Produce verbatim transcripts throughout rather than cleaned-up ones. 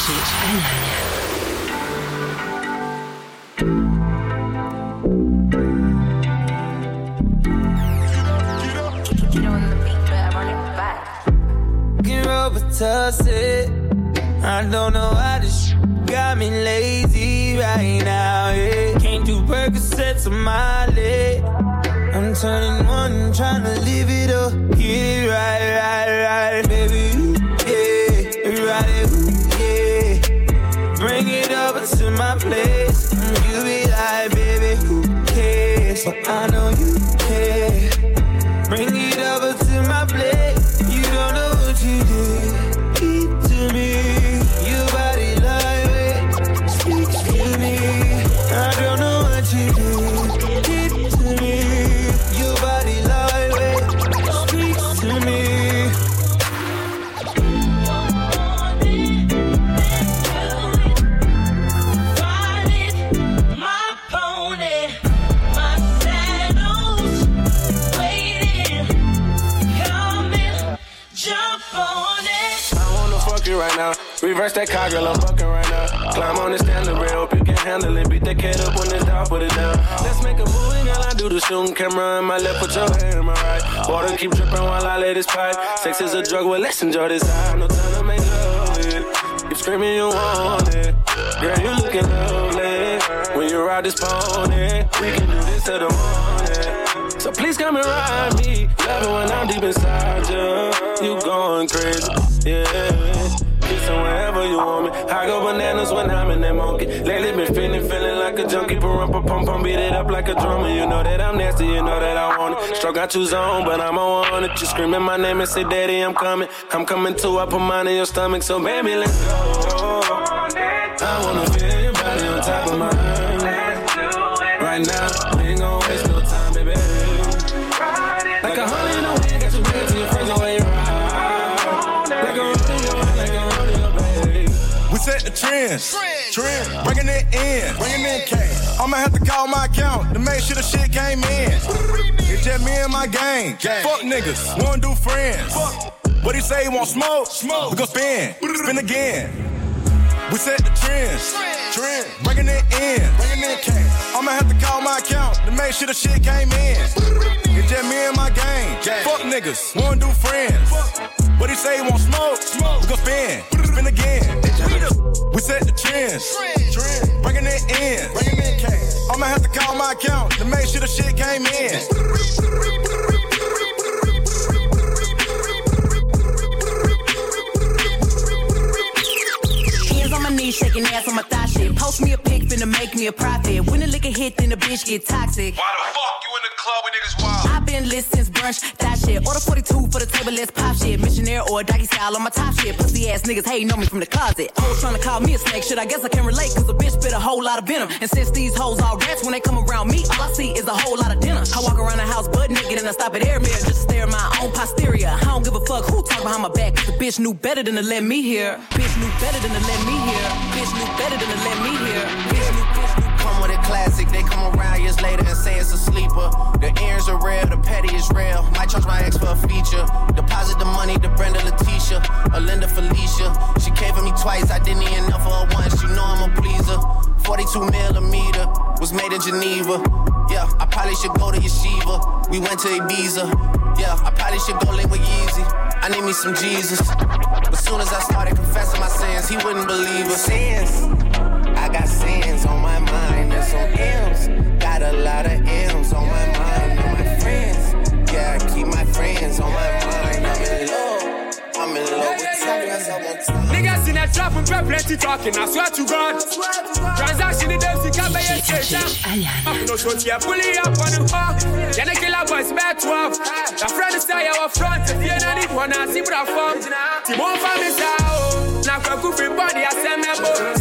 Ciecić Aniania. Tussed. I don't know why this got me lazy right now, yeah. Can't do Percocets on my leg. I'm turning one, trying to live it up. Yeah, right, right, right, baby, yeah, right, yeah. Bring it over to my place. You be like, baby, who cares? But I know you care. Bring it over to my place. You don't know what you did. To me, your body lightweight speaks to me. I don't know what you do. Did to me, your body lightweight speaks to me. Ride it, my pony, my saddle's waiting. Come and jump on it. Right now, reverse that car, girl, I'm fucking right now. Climb on the standard rail, hope you can handle it. Beat that cat up when it's down, put it down. Let's make a movie, girl, I do the shooting. Camera in my left, put your hand in my right. Water keep dripping while I lay this pipe. Sex is a drug, well, let's enjoy this high. No time to make love with it. Keep screaming you want it. Girl, you looking lovely. When you ride this pony, we can do this till the morning. So please come and ride me. Love it when I'm deep inside you. You going crazy, yeah. Kissing wherever you want me. I go bananas when I'm in that monkey. Lately been feeling, feeling like a junkie. Pump, pump, pump, beat it up like a drummer. You know that I'm nasty, you know that I want it. Stroke out two zone, but I'm on it. You screaming my name and say, Daddy, I'm coming. I'm coming too, I put mine in your stomach. So baby, let's go. I wanna feel your body on top of mine. Right now, we ain't gon' waste no time, baby. Like a honey in the wind, got you big to your friends the way you ride. Like a rodeo, like a rodeo, baby. We set the trends, trend, bringing it in, bringing in cash. I'ma have to call my account to make sure the shit came in. It's just me and my gang. Fuck niggas, wanna do friends. What he say, he want smoke? Smoke. We gon' spin, spin again. We set the trends, trend, bringing it in, bringing in cash. I'ma have to call my account to make sure the shit came in. It's just me and my gang. Fuck niggas, wanna do friends. What he say, he want smoke? Smoke. We gon' spin, spin again. We set the trends, trend, bringing it in, bringing in cash. I'ma have to call my account to make sure the shit came in. Shaking ass on my thigh shit. Post me a pic, finna make me a profit. When the liquor hit, then the bitch get toxic. Why the fuck you in the club with niggas wild? I've been lit since brunch, that shit. Order forty-two for the table, let's pop shit. Missionaire or doggy style on my top shit. Pussy ass niggas hating on me from the closet. Hoes trying to call me a snake, shit, I guess I can relate. Cause a bitch spit a whole lot of venom. And since these hoes all rats, when they come around me, all I see is a whole lot of dinner. I walk around the house butt naked and I stop at air mirror just to stare at my own posterior. I don't give a fuck who talk behind my back. Cause the bitch knew better than to let me hear. Bitch knew better than to let me hear. Bitch knew better than to let me hear. Bitch knew, bitch knew. Come with a classic, they come around years later and say it's a sleeper. The earrings are real, the petty is real. Might charge my ex for a feature. Deposit the money to Brenda Leticia, or Linda Felicia. She came for me twice, I didn't even know for her once. You know I'm a pleaser. forty-two millimeter, was made in Geneva. Yeah, I probably should go to Yeshiva. We went to Ibiza. Yeah, I probably should go live with Yeezy. I need me some Jesus. As soon as I started confessing my sins, he wouldn't believe us. Sins, I got sins on my mind and some M's. Got a lot of M's on my mind and my friends. Yeah, I keep my friends on my mind. I'm in love, I'm in love with time. Niggas in a trap and pray plenty talking, I swear to God. Transaction in them, see, can't buy a station. I'm no short here, pulling up on the park. Then the killer boys back twelve. The friend is there, our front. If you don't need one, I see what I found. Timon from his house. Now, come free body, I send me a boat.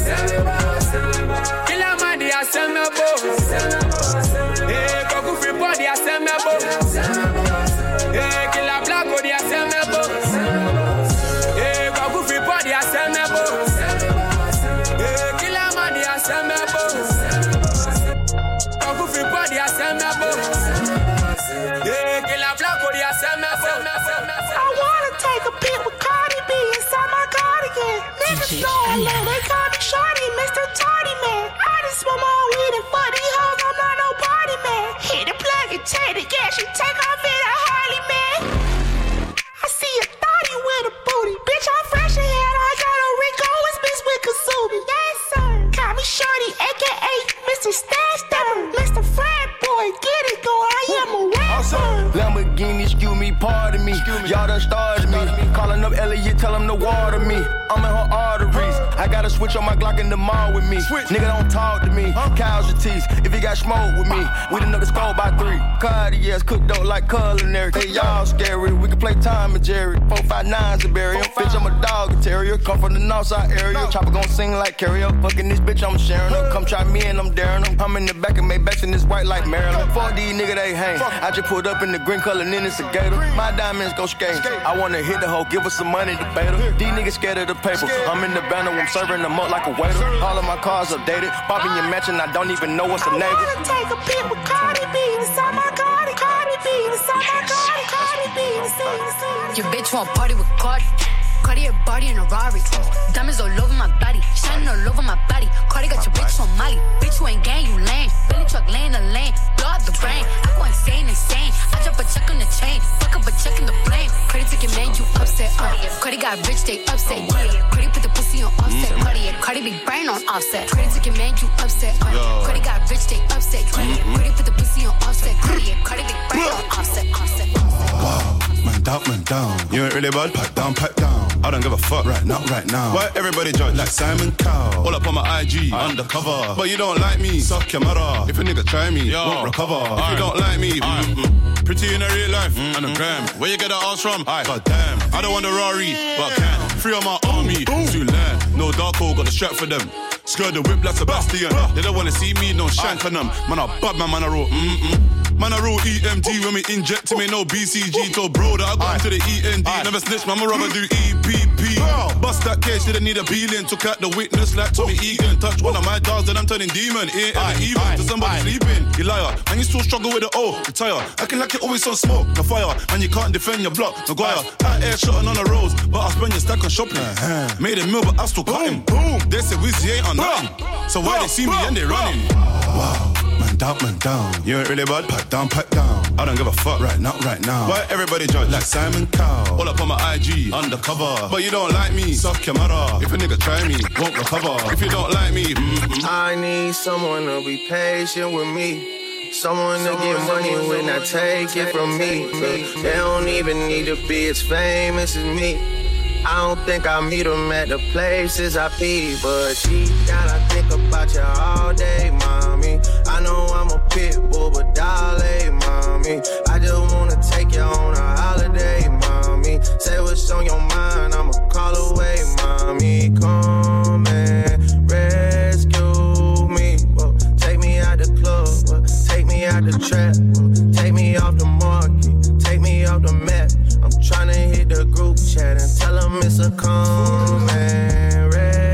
Killer man, I send me a boat. Hey, come free body, I send me a boat. Hey, killer black body, I send me a boat. Hey, come free body, I send me a boat. Hey, killer man, I send me a boat. Come free body, I send me a boat. Hey, killer black body, I send me a boat. I wanna take a pic with Cardi B inside my cardigan. Niggas know I love, they call me Shorty, Mister Tardy Man. I just smoke my weed and fuck these hoes, I'm not no party man. Hit the plug and take the gas, you take off in a Harley man. I see a thotty with a booty, bitch I'm fresh ahead, I got a Rico, it's bitch with Kasubi. Yes sir, call me Shorty, aka Mister Stash Stepper, Mister Frat Boy, get it go, I am a rapper. Lamborghini, excuse me, pardon me. Y'all done started me. Calling up Elliot, tell him to water me. I'm in her arteries. I got a switch on my Glock in the mall with me. Nigga don't talk to me. Casualties, if you got smoke with me. We done know the score by three. Cartiers cooked up like culinary. Hey, y'all scary. We can play Tom and Jerry. Four, five, nines to bury him. Bitch, I'm a dog and terrier. Come from the north side area. Chopper gon' sing like karaoke. Fucking this bitch, I'm sharing her. Come try me and I'm daring them. I'm in the back of Maybachs and this white like Maryland. Fuck these nigga, they hang. I just pulled up in the green color and then it's a gator. My diamonds go skate. I wanna hit the hoe, give her some money to bait her. These niggas scared of the paper. I'm in the banner, I'm serving them up like a waiter. All of my cars updated. Popping your match and I don't even know what's a neighbor. I wanna take a pic with Cardi B. Inside my Cardi, Cardi B. Inside my Cardi, Cardi B. Your bitch want party with Cardi. Cardi a body in a Rari. Diamonds all over my body, shining all over my body. Cardi got your bitch on Molly. Bitch, you ain't gang, you lame. Billy truck laying the lane, blow up the brain. I go insane, insane. I drop a check on the chain, fuck up a check in the flame. Cardi took your man, you upset. Uh. Cardi got rich, they upset. Yeah. Cardi put the pussy on offset. Mm-hmm. Cardi, Cardi big brain on offset. Cardi took your man, you upset. Uh. Cardi got rich, they upset. Yeah. Mm-hmm. Cardi put the pussy on offset. Cardi, Cardi big brain on offset. Offset. Wow, man down, man down. You ain't really bad, pack down, pack down. I don't give a fuck right now, right now. Why everybody judge like Simon Cowell? All up on my I G, I undercover. But you don't like me, suck your mother. If a nigga try me, yo, won't recover. If right. You don't like me, mm-hmm. Pretty in a real life, mm-hmm. And a gram. Where you get the ass from? Aye. God damn, I don't want the Rari, but I can. Free on my army, too late. No dark hole, got a strap for them. Skirt the whip like Sebastian. They don't wanna see me, no shank on them. Man, I bad man, man, I roll, mm-mm. Man, I roll E M T when we inject him, ain't no B C G. Told bro that I got into the E N D. Aye. Never snitch, man, I'ma rather do E P P. Bust that case, didn't need a peeling. Took out the witness like Tommy Egan. Touch one of my dogs, then I'm turning demon. Ain't ever even to somebody aye. Sleeping. You liar, and you still struggle with the O. Retire, acting like you always on smoke. No fire, and you can't defend your block. No guire, out air shotting on the roads, but I spend your stack on shopping. Uh-huh. Made a meal, but I still cut him. Boom. They say Wizzy ain't on nothing. So why they see me and they running? Wow. Man down, man down. You ain't really bad, pack down, pack down. I don't give a fuck right now, right now. Why everybody judge like Simon Cowell? All up on my I G, undercover. But you don't like me, suck your mother. If a nigga try me, won't recover. If you don't like me, mm-hmm. I need someone to be patient with me. Someone to get money when I take it from me. Look, they don't even need to be as famous as me. I don't think I meet them at the places I be, but deep down I think about you all day, mommy. I know I'm a pit bull, but darling, mommy. I just wanna take you on a holiday, mommy. Say what's on your mind, I'ma call away, mommy. Come and rescue me. Whoa. Take me out the club, whoa. Take me out the trap, whoa. Take me off the market, take me off the map. I'm tryna hit the group chat and tell them it's a come and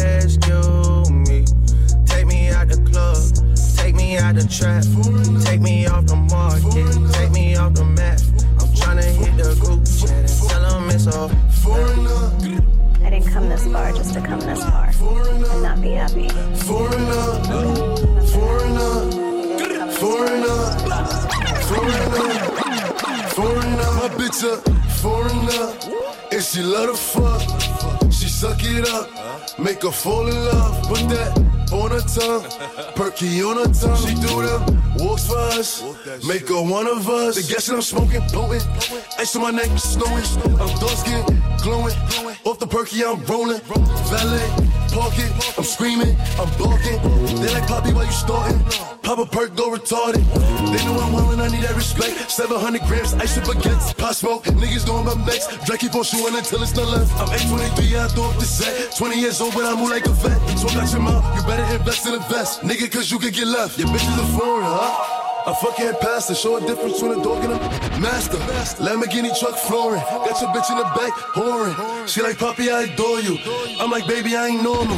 rescue me. Take me out the club, take me out the trap, take me off the market, take me off the map. I'm tryna hit the group chat and tell them it's a foreigner. I didn't come this far just to come this far and not be happy. Foreigner, foreigner, foreigner, foreigner, foreigner. My bitch a foreigner, and she love to fuck. She suck it up, make her fall in love. Put that on her tongue, perky on her tongue. She do them walks for us, make her one of us. The gas that I'm smoking, blowing, ice on my neck, snowing. I'm dark skin, glowing, off the perky I'm rolling. Valet, park it, I'm screaming, I'm barking. They like Poppy while you starting. Pop a perk, go retarded. They know I'm willing, I need that respect. seven hundred grams, ice up against pot smoke. Niggas doing my next. Drake keep on shooting until it's not left. I'm age twenty-three, I throw up the set. twenty years old, but I move like a vet. So I got your mouth, you better invest in a vest. Nigga, cause you can get left. Your bitch is a foreigner, huh? A fucking pastor, show a difference between a dog and a master. Lamborghini truck flooring, got your bitch in the back, whoring. She like, Poppy, I adore you. I'm like, baby, I ain't normal.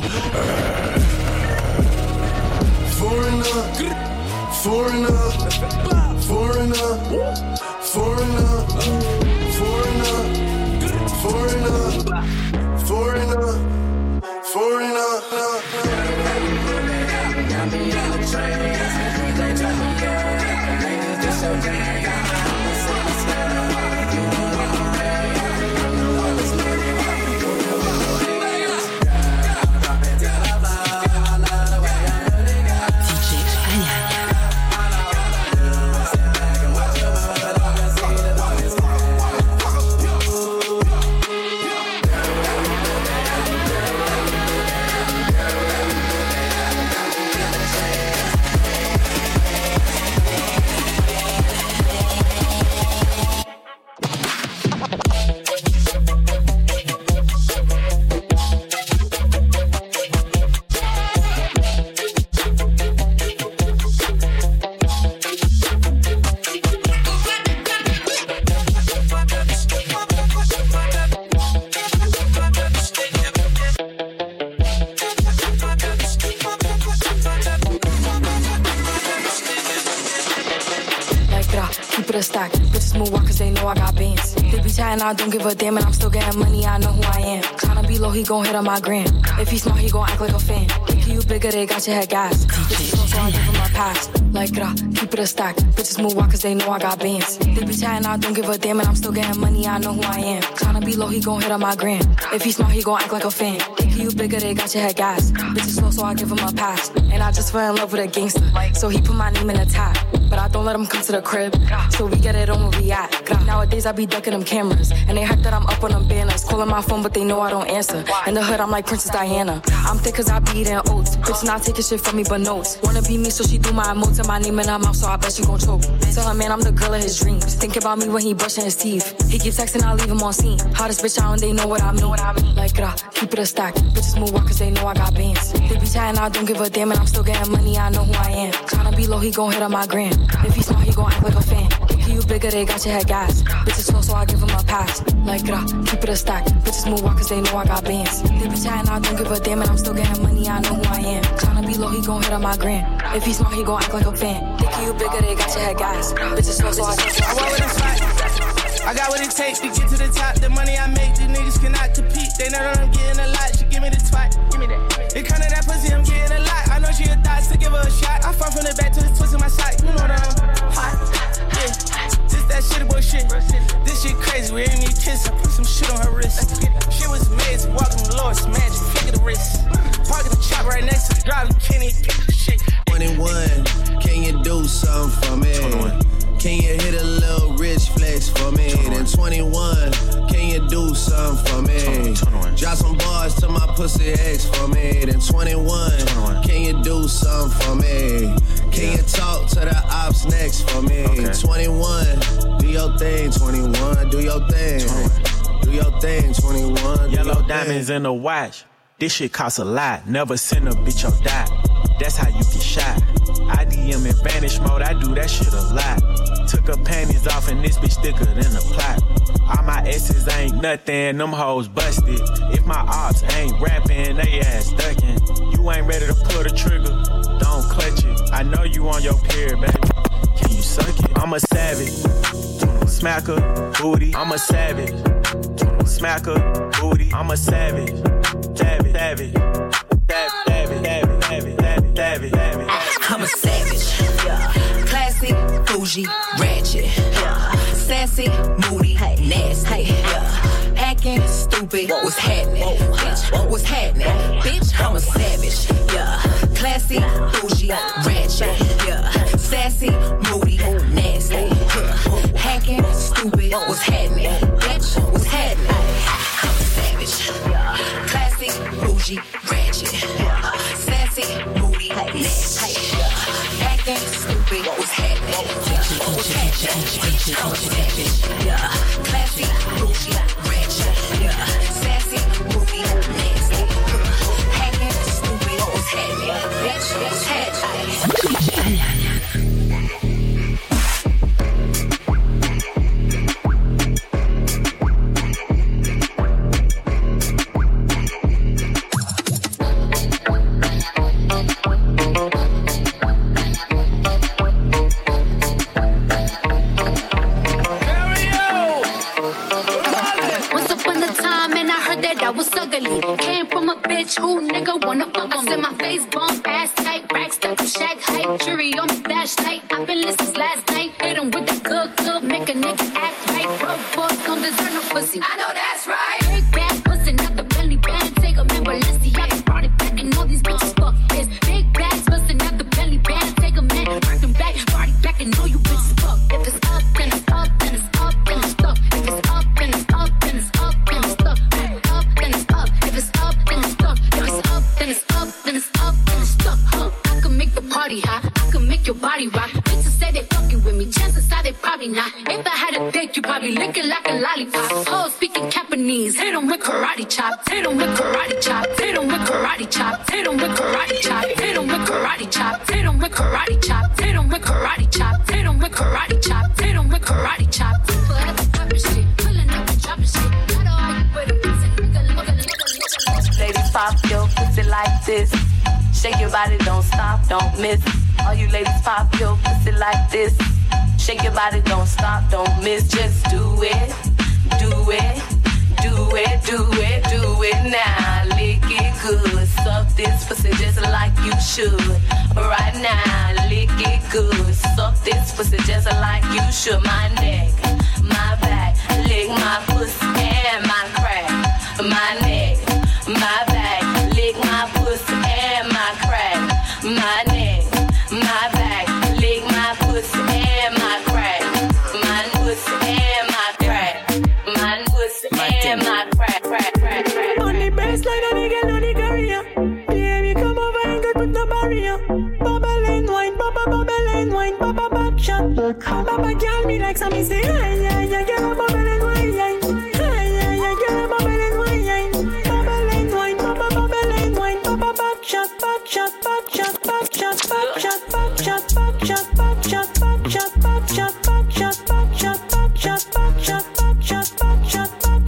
Foreigner, foreigner, foreigner, foreigner, foreigner, foreigner, foreigner, foreigner. I don't give a damn and I'm still getting money, I know who I am. Tryna be low, he gon' hit on my gram. If he smart, he gon' act like a fan. Think you bigger, they got your head gas. Bitches slow, so I give him a pass. Like, rah, keep it a stack. Bitches move walk cause they know I got bands. They be chatting, I don't give a damn and I'm still getting money, I know who I am. Tryna be low, he gon' hit on my gram. If he smart, he gon' act like a fan. Think you bigger, they got your head gas. Bitches slow, so I give him a pass. And I just fell in love with a gangster. So he put my name in the tag. But I don't let him come to the crib. So we get it on where we at. Nowadays I be ducking them cameras. And they hype that I'm up on them banners. Calling my phone, but they know I don't answer. In the hood, I'm like Princess Diana. I'm thick cause I be eating oats. Bitch not taking shit from me but notes. Wanna be me, so she do my emotes and my name in her mouth, so I bet she gon' choke. Tell her, man, I'm the girl of his dreams. Think about me when he brushing his teeth. He keep texting, I leave him on scene. Hottest bitch out and they know what I mean. What I mean. Like, rah, keep it a stack. Bitches move walk cause they know I got bands. They be chatting, I don't give a damn and I'm still getting money, I know who I am. Tryna be low, he gon' hit on my gram. If he smart, he gon' act like a fan. Think you bigger, they got your head gas. Bitches slow, so I give him a pass. Like, rah, keep it a stack. Bitches move walk cause they know I got bands. They be chatting, I don't give a damn and I'm still getting money, I know who I am. Tryna be low, he gon' hit on my gram. If he smart, he gon' act like a fan. Think you bigger, they got your head gas. Bitches slow, so I give him a pass. I got what it takes to get to the top. The money I make, these niggas cannot compete. They know that I'm getting a lot. She give me the twat. Give me that. It come to that pussy, I'm getting a lot. I know she a thot, so give her a shot. I fall from the back to the twist of my side. You know that I'm hot. Yeah. This that shit boy shit. This shit crazy. We ain't need kiss. I put some shit on her wrist. Shit was amazing. Walking the Lord's magic. Flick of the wrist. Parking the chop right next to the driver. Kenny. Shit. twenty-one. Can you do something for me? twenty-one. Can you hit a little rich flex for me? Then twenty-one, can you do something for me? Drop some bars to my pussy ex for me. Then twenty-one, can you do something for me? Can you talk to the ops next for me? twenty-one, do your thing, twenty-one, do your thing. Do your thing, twenty-one. Yellow diamonds in the watch. This shit costs a lot. Never send a bitch or die. That's how you get shot. I D M in vanish mode, I do that shit a lot. Took her panties off and this bitch thicker than a plot. All my S's ain't nothing, them hoes busted. If my ops ain't rapping, they ass ducking. You ain't ready to pull the trigger, don't clutch it. I know you on your period, baby. Can you suck it? I'm a savage. Smack her, booty. I'm a savage. Smack her, booty. I'm a savage. Savage, savage. Savage, savage, savage, savage, savage, savage. I'm a savage, yeah. Classy, bougie, ratchet, yeah. Sassy, moody, nasty, yeah. Acting stupid, what's happening? Bitch, what's happening? Bitch, I'm a savage, yeah. Classy, bougie, ratchet, yeah. Sassy, moody, nasty, yeah. Hacking, stupid, what's happening? Bitch, what's happening? I'm a savage, yeah. Classy, bougie, ratchet, yeah. Sassy, moody, nasty, yeah. Acting stupid, what's happening? Bitch, what's happening? Bitch, I'm a savage, yeah. Classy, bougie, ratchet, yeah. Sassy, moody, nasty, yeah. Hacking stupid, what's happening? Bitch, what's happening? Who nigga wanna fuck? I said my face bump, ass tight, racks stuck to shack height, jury on my flashlight. I've been listening last night, hit 'em with make a nigga act right. Broke boys don't deserve no pussy. I know that's right. Big bad pussy, not the belly band. Take a man, Balenciaga brought it back, and all these bitches fuck this. Big bags busting out the belly band. Take a man, bring them back, brought it back, and all you bitches fuck. If it's up, then it's up, then it's up, then it's stuck. If it's up, then it's up, then it's up, then it's stuck. Up, then it's up. If it's up, then it's stuck. If it's up, then it's up, then it's up, then it's stuck. Huh? I can make the party hot. I can make your body rock. Bitches say they fucking with me. Chances are they probably not. If I had a date, you probably lick it like a lollipop. Hoes speaking Japanese. Hit 'em with karate chops. Hit 'em with karate chops. Hit 'em with karate chops. Hit 'em with karate chops. Hit 'em with karate chops. Hit 'em with karate chops. Hit 'em with karate chops. Hit 'em with karate chops. Hit 'em with karate chops. Forever poppin' shit. Pulling up and dropping shit. Gotta argue with 'em. Ladies, pop your pussy like this. Shake your body, don't stop, don't miss. All you ladies, pop your pussy like this. Shake your body, don't stop, don't miss. Just do it, do it, do it, do it, do it now. Lick it good, suck this pussy just like you should. Right now, lick it good, suck this pussy just like you should. My neck, my back, lick my pussy and my crack. My neck, my back, lick my pussy and my crack. My neck, my back, lick my pussy and my crack. My pussy and my crack. My pussy and my crack, crack, crack, crack. On the baseline, a nigga know the career. Baby, come over and get with the barrier. Bubble and wine, bubble, bubble and wine, bubble back shot. Bubble girl me like some say, yeah, yeah, yeah, girl, bubble and wine, yeah, yeah, yeah, yeah, girl, bubble and wine, yeah, bubble and wine, bubble, bubble and wine, bubble back shot, back shot, back shot, back shot, back shot, back shot, back shot, back shot, back shot, back shot, back shot, back shot, back shot, back shot, back shot, back shot,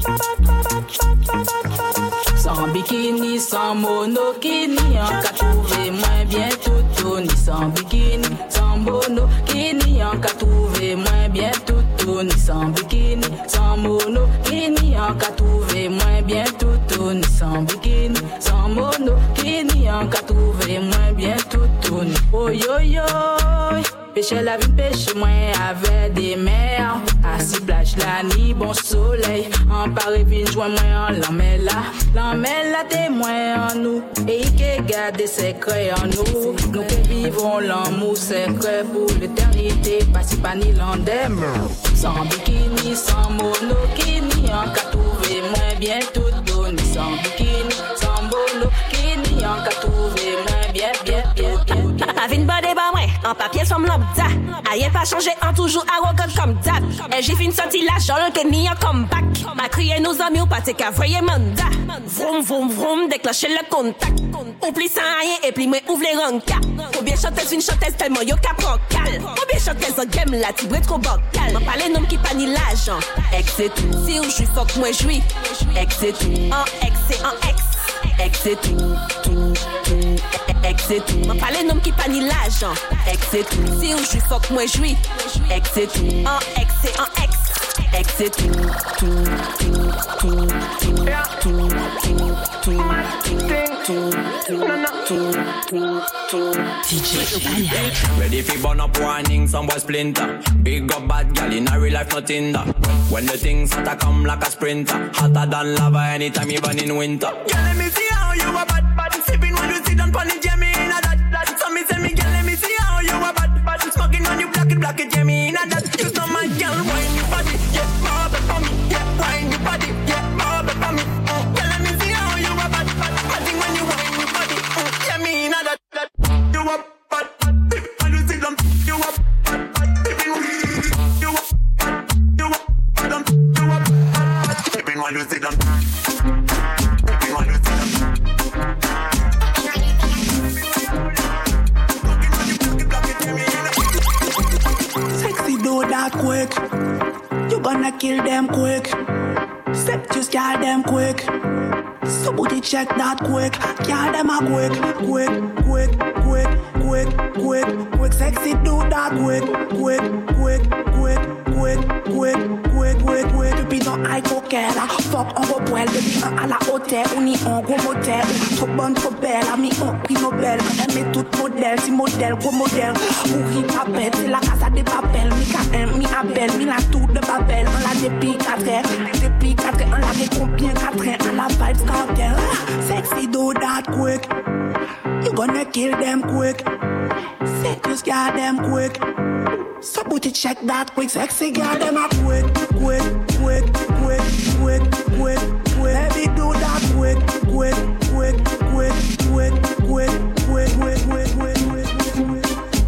sans bikini, sans monokini, en qu'a trouvé moins bien tout ni sans bikini, sans monokini, en qu'a trouvé moins bien tout ni sans bikini, sans monokini, en qu'a trouvé moins bien tout ni sans bikini, sans monokini, en qu'a trouvé moins bien tout ni. Oh yo yo, pêcher la vie, pêcher moins avec des mers. Assis plage la nuit, bon soleil. En Paris, vine joint moins en l'emmène là. L'emmène là, témoin en nous. Et qui garde des secrets en nous. Nous qui vivons l'amour secret pour l'éternité. Pas si pas ni l'endem. Sans bikini, sans monokini. En qu'a trouvé moins bien tout donné. Sans bikini, sans monokini. En qu'a trouvé moins bien, bien, bien, bien, bien. Avine bade ba mwen, en papier som lambda. Ayen pas changé, en toujours arrogant comme dab. Et j'ai fin sorti la jol que ni en comeback. Ma crié nos amis ou pas t'es qu'à voyer mandat. Vroom vroom vroom, déclencher le contact. Oublie sans rien et puis moi ouvre les rankas. Combien chanteuse une chanteuse tellement yo ka prend cal. Combien chanteuse en game là, tu brûles trop bocal. M'en parle nom qui pas ni l'argent. Ex c'est tout, si ou j'suis fuck moi j'suis. Ex c'est tout, en ex c'est en ex. Ex c'est tout, tout, tout. Ex c'est tout, m'en parle nom qui pas ni l'argent. Ex c'est tout, si ou j'suis fuck moi j'suis. Ex c'est tout, en ex c'est en ex. Ex c'est tout, tout, tout, tout, tout, tout, tout, tout, tout, tout, tout. D J ready fi burn up warning, some boy splinter. Big up bad gal in a real life nothing that. When the things hotter come like a sprinter, hotter than lava anytime even in winter. Girl let me see how you a bad bad. Sipping when you sit down pon the jammy in a that that. So me say me girl let me see how you a bad bad. Smoking when you black it black it jammy in a that. You know my girl wine your body, yeah, bob it for me, yeah, wine your body, yeah, bob it for me. Girl let me see how you a bad bad. I think when you wine your body, yeah me in a that that. You a bad bad. When you sit down, you a bad bad. You a bad, you a you a bad, you a bad. Sipping when you sit down. Sipping when you sit down. Sexy do that quick. You gonna kill them quick. Set you scare them quick. Somebody check that quick. Kill them a quick, quick, quick, quick, quick, quick, quick. Sexy do that quick, quick, quick, quick, quick, quick, quick, quick, quick. Depuis dans high coquette, fuck on go poil. Depuis un à la hôtel, on y en gros motel. Trop bonne, trop belle, ami on prix Nobel. Aimé tout modèle, si modèle, gros modèle. Pourri papel, c'est la casa des papels. Mi K M, mi Abel, mi la tout depuis quatre ans. Depuis quatre ans, on l'a fait combien quatre ans? On la vibes cartel. Sexy do that quick. You gonna kill them quick. Set you scare them quick. So booty check that quick. Sexy girl them a quick, quick, quick, quick, quick, quick, quick. Baby do that quick, quick, quick, quick, quick, quick, quick, quick, quick, quick, quick, quick.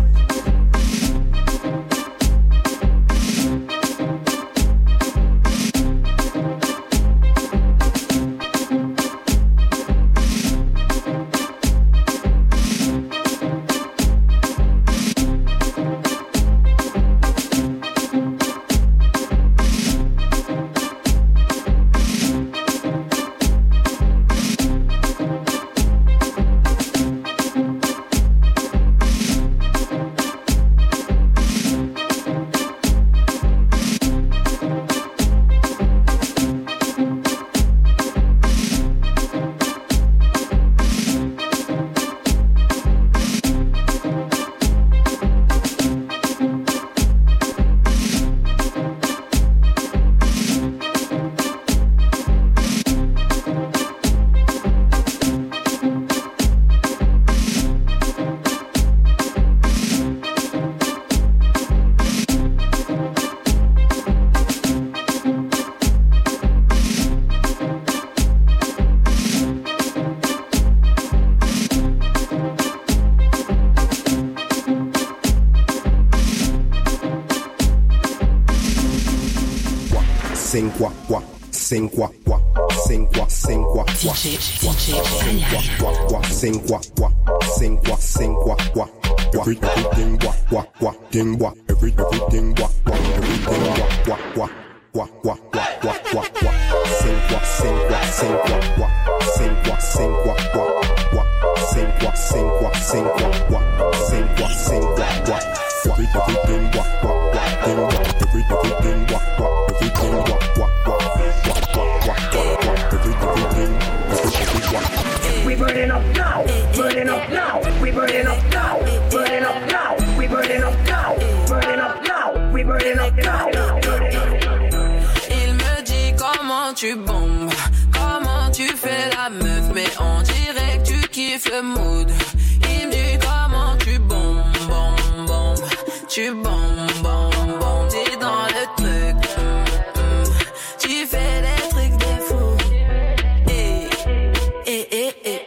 Sing quoi quoi, sing quoi quoi, sing quoi, sing quoi quoi, sing quoi quoi quoi, sing quoi quoi, sing quoi, sing quoi quoi, every everything quoi quoi quoi, ding quoi, every everything quoi quoi, everything quoi quoi quoi, quoi quoi quoi quoi quoi, sing quoi, sing quoi, sing quoi quoi, sing quoi, sing quoi quoi, quoi, sing quoi, sing quoi, sing quoi quoi, sing quoi, sing quoi quoi, every everything quoi quoi quoi, ding quoi, every everything quoi quoi, everything quoi. We burning up now, burning up now, we burning up now, burning up now, we burning up now, burning up now, we burning up now. Il me dit comment tu bombes, comment tu fais la meuf, mais on dirait que tu kiffes le mood. Il me dit comment tu bombes, bombes, bombes, tu bombes, bombes, bombes, t'es dans le truc, mm, mm. Tu fais des trucs de fou. Eh, eh, eh, eh.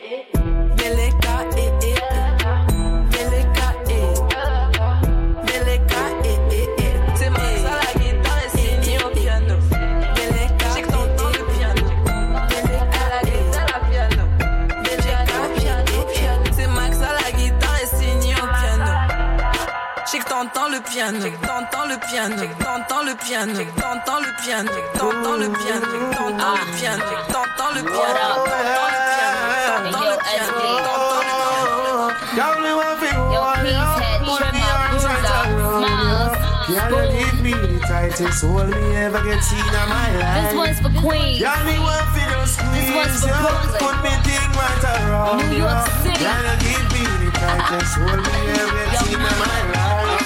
T'entends le piano, t'entends le piano, t'entends le piano, t'entends le piano, t'entends le piano, t'entends le piano, t'entends le piano, t'entends le piano, t'entends le piano, t'entends le piano. Yo, please head, trim my bruiser, smiles. Give me the tightest hold me ever get seen in my life. This one's for Queens. Y'all me want for those squeeze. This one's for Brooklyn. Put me thing right around. New York City. Y'all give me the tightest hold me ever get seen in my life.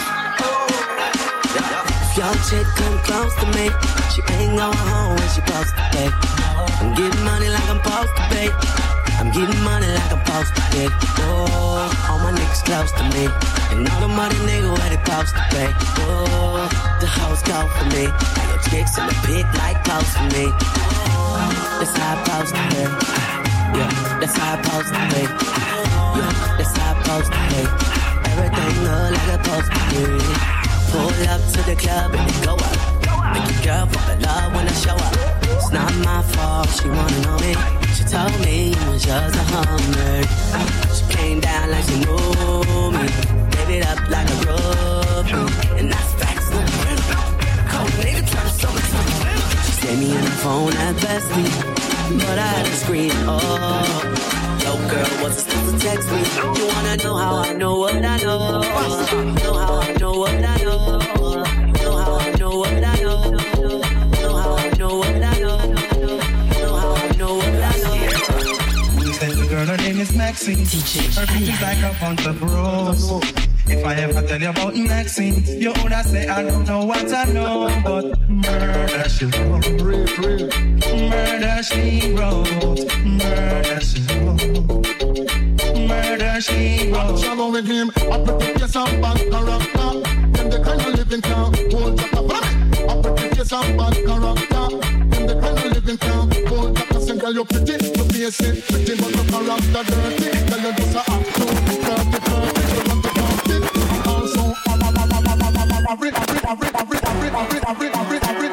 Your chick come close to me. She ain't going home when she supposed to pay. I'm getting money like I'm supposed to pay. I'm getting money like I'm supposed to pay. Oh, all my niggas close to me. And all the money nigga where they supposed to pay. Oh, the hoes go for me. Got your chicks in the pit like close to me. Oh, that's how I supposed to pay. Yeah, that's how I supposed to pay. Yeah, that's how I supposed to pay. Everything look like it's supposed to be. Pull up to the club and then go up. Make your girl fall in love when I show up. It's not my fault, she wanna know me. She told me you was just a hummer. She came down like she knew me. Gave it up like a groupie. And that's facts, no print. Cold nigga tryna show me something. She saved me on the phone at Bestie, but I had to scream, oh. Yo, girl, what's supposed to text me? You wanna know how I know what I know? Know how I know what I know? Know how I know what I know? Know how I know what I know? Know how I know what I know? We said the girl, her name is Maxine. Her feet is like a bunch of rose. If I ever tell you about Maxine, you woulda say I don't know what I know, but murder she wrote, murder she wrote, murder she wrote, murder she wrote. I'm trouble with him. I protect your some bad character. Them the kind of living town, hold up a I protect your some bad character. Them the kind of living town, hold up a single. You're pretty, you're basic, pretty, but your character dirty. Tell you just a act too, dirty, dirty, you want to party. Also, I'm a, I'm a, I'm a, I'm a, I'm a, read, read, read, read, read, read, read, read, read, read, read, read,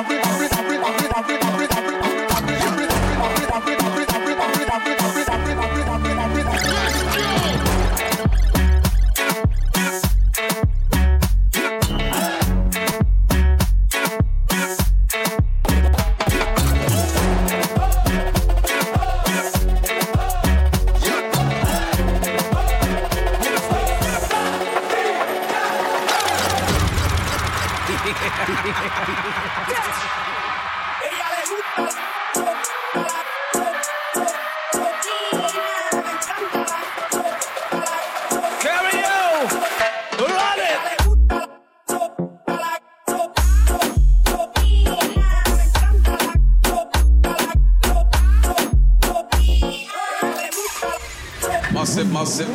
Massive, massive.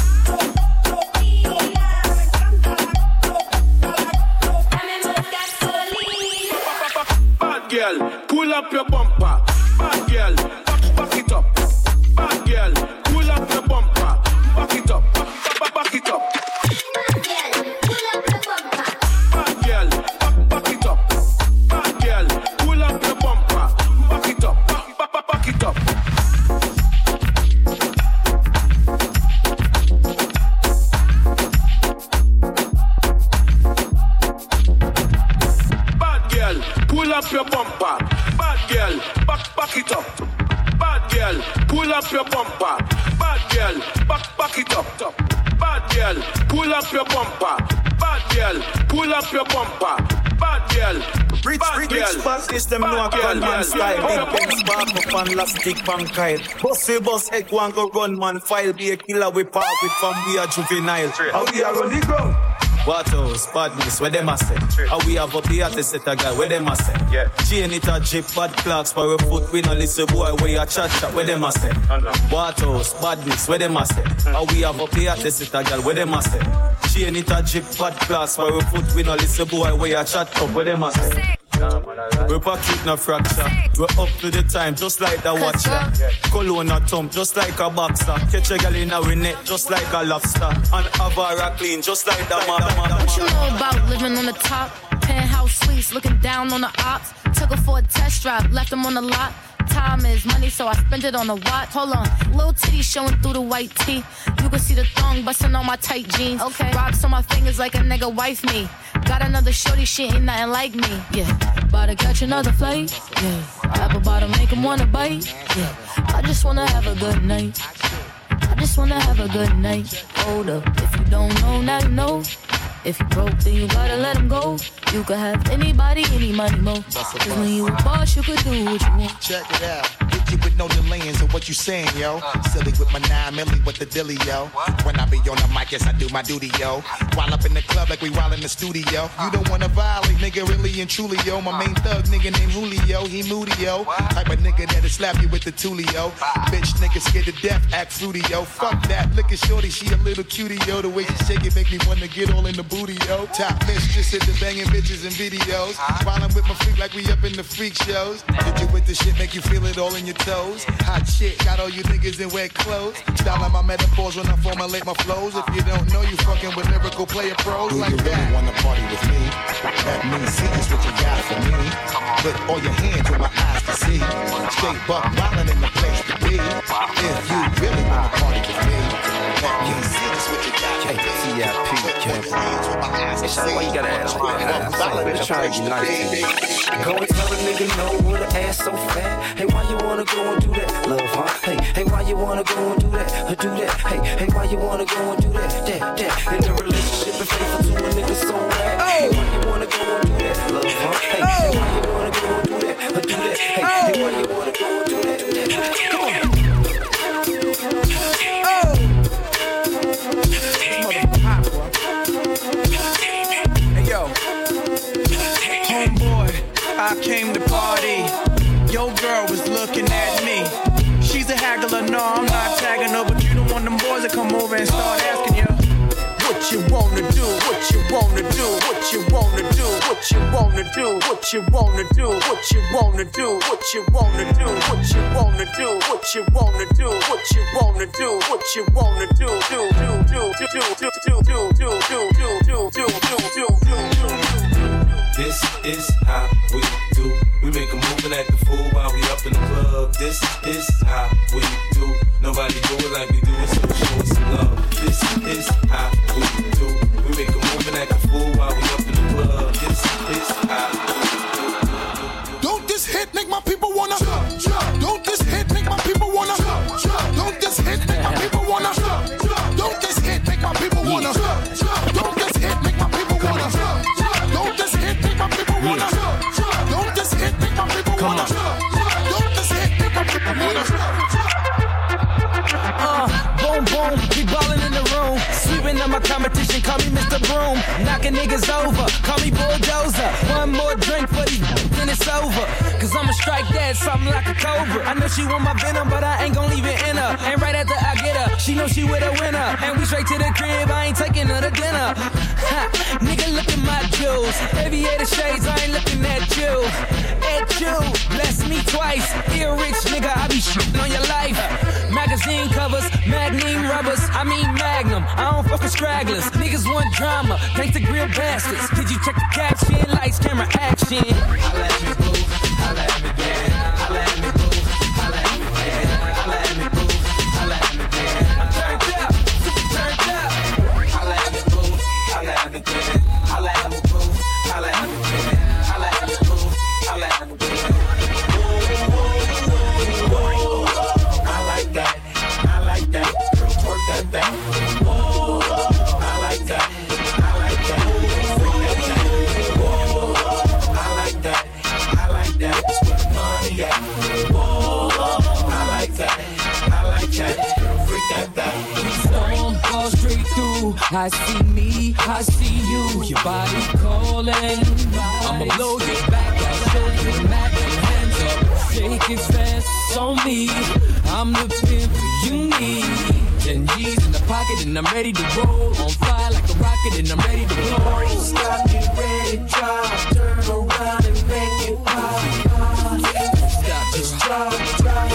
Bad girl, pull up your bumper. Bad girl, back, back it up. Bad girl, pull up your bumper. Back it up, back, back, back it up. Bad girl, pull up your bumper. Bad girl, back, back it up. Bad girl, pull up your bumper. Back it up, back, back, back, back it up. Pull up your bumper, bad girl, back, back it up. Bad girl, pull up your bumper. Bad girl, back, back it up. Bad girl, pull up your bumper. Bad girl, pull up your bumper. Bad girl, rich, rich, rich, bad is them know a gunman style. Big pen spark up and elastic pankile. Bossy boss egg one go run man file. Be a killer we park with from we are juvenile. How we are on the ground? What else? Badness, where them a say? How we have up here to set a guy, where them a say? Yeah. Chain it a jeep, bad clocks for a foot. We no listen boy, where you chat chat, where them a say? What else? Badness, where them a say? How we have up here to set a guy, where them a say? Chain it a jeep, bad clocks for a foot. We no listen boy, where you chat up, where them a say? We're pocket no fracture. We're up to the time, just like the watcher. Cologne a thump, just like a boxer. Catch a girl in our net, just like a lobster. And Avara clean, just like the mama. What you know about living on the top? Penthouse suites, looking down on the ops. Took her for a test drive, left them on the lot. Time is money, so I spent it on a watch. Hold on, little titty showing through the white tee. You can see the thong busting on my tight jeans. Okay, rocks on my fingers like a nigga wife me. Got another shorty, she ain't nothing like me. Yeah, about to catch another flight. Yeah, apple bottom make him wanna bite. Yeah, I just wanna have a good night. I just wanna have a good night. Hold up, if you don't know, now you know. If you broke, then you gotta let him go. You could have anybody, any money, mo. Cause when you a boss, you could do what you want. Check it out. Hit you with no delaying, so what you saying, yo? Silly with my nine milli with the dilly, yo. When I be on the mic, yes, I do my duty, yo. While up in the club like we while in the studio. You don't wanna violate, nigga, really and truly, yo. My main thug, nigga named Julio, he moody, yo. Type of nigga that'll slap you with the tulio. Bitch, nigga scared to death, act fruity, yo. Fuck that, look at shorty, she a little cutie, yo. The way she shake it make me wanna get all in the booty, yo. Top mistress at the banging bitches and videos. While I'm with my freak like we up in the freak shows. Did you with the shit make you feel it all in your toes? Hot shit, got all you niggas in wet clothes. Styling my metaphors when I formulate my flows. If you don't know, you fucking with lyrical player pros. Do like you really that. Wanna party with me? Let me see just what you got for me. Put all your hands with my eyes to see. Straight buck wildin' in the place to be. If you really wanna party with me, let me see just what you got for me. T I P, it's like, why you gotta ask me that? I'm trying to be nice. Go and tell a nigga no with an ass so fat. Hey, why you wanna go and do that, love, huh? Hey, hey, why you wanna go and do that, or do that? Hey, hey, why you wanna go and do that, that, that? In the relationship, if faithful to a nigga so bad. Hey, why you wanna go and do that, love, huh? Hey, hey, why you wanna go and do that, or do that? Hey, hey, why you wanna go and do that, that, that? Come on. Oh. This motherfucker hot, boy. I came to party. Your girl was looking at me. She's a haggler, no, I'm not tagging her, but you don't want them boys to come over and start asking you what you wanna do, what you wanna do, what you wanna do, what you wanna do, what you wanna do, what you wanna do, what you wanna do, what you wanna do, what you wanna do, what you wanna do, what you wanna do, do do do do do do do do do do do do do do. This is how we do. We make a move and act a fool while we up in the club. This is how we do. Nobody do it like we do it, so show us some love. This is how we do. We make a move and act a fool while we up in the club. This is how we do. Don't this hit make my people wanna jump, jump. Don't this hit make my people wanna jump, jump. Don't this hit make my people wanna jump, jump. Don't this hit make my people wanna jump, jump. Don't this hit make my people wanna jump, jump. Don't this hit make my people wanna jump, jump. Don't this hit make my people wanna jump, jump. Don't this hit make my people wanna jump. Uh, boom, boom, we ballin' in the room. Sweeping up my competition, call me Mister Broom. Knocking niggas over, call me Bulldozer. One more drink for these, then it's over. Cause I'ma strike that, something like a cobra. I know she want my venom, but I ain't gon' leave it in her. And right after I get her, she know she with a winner. And we straight to the crib, I ain't taking her to dinner. Ha, nigga, look at my jewels. Aviator shades, I ain't looking at you. At you, bless me twice. Here, rich nigga, I be shitting on your life. Magazine covers, magnum rubbers, I mean magnum. I don't fuck with stragglers. Niggas want drama, thanks to grill bastards. Did you check the caption? Lights, camera, action. Holla at me, boo. Holla at me, yeah. Holla at me, boo. Holla at me, yeah. Holla at me, boo. Holla at me, yeah. I'm turned up, super turned up. Holla at me, boo. Holla at me, yeah. Holla at me, boo. Holla at me, yeah. Holla at me, boo. Holla at me, yeah. I like that. I like that. Work that thing. Whoa, I like that. I like that. Bring that thing. Whoa, I like that. I like that. That's where the money at. Whoa, I like that. I like that. Freak that thing. Storm falls straight through. I see me, I see you. Your body calling. I'ma blow your back. I'll show you the Mac. Hands up, shake it fast on me. I'm the pimp you need. Ten G's in the pocket and I'm ready to roll. On fire like a rocket and I'm ready to blow. Stop, get ready, drop. Turn around and make it pop. Stop, just drop, drop.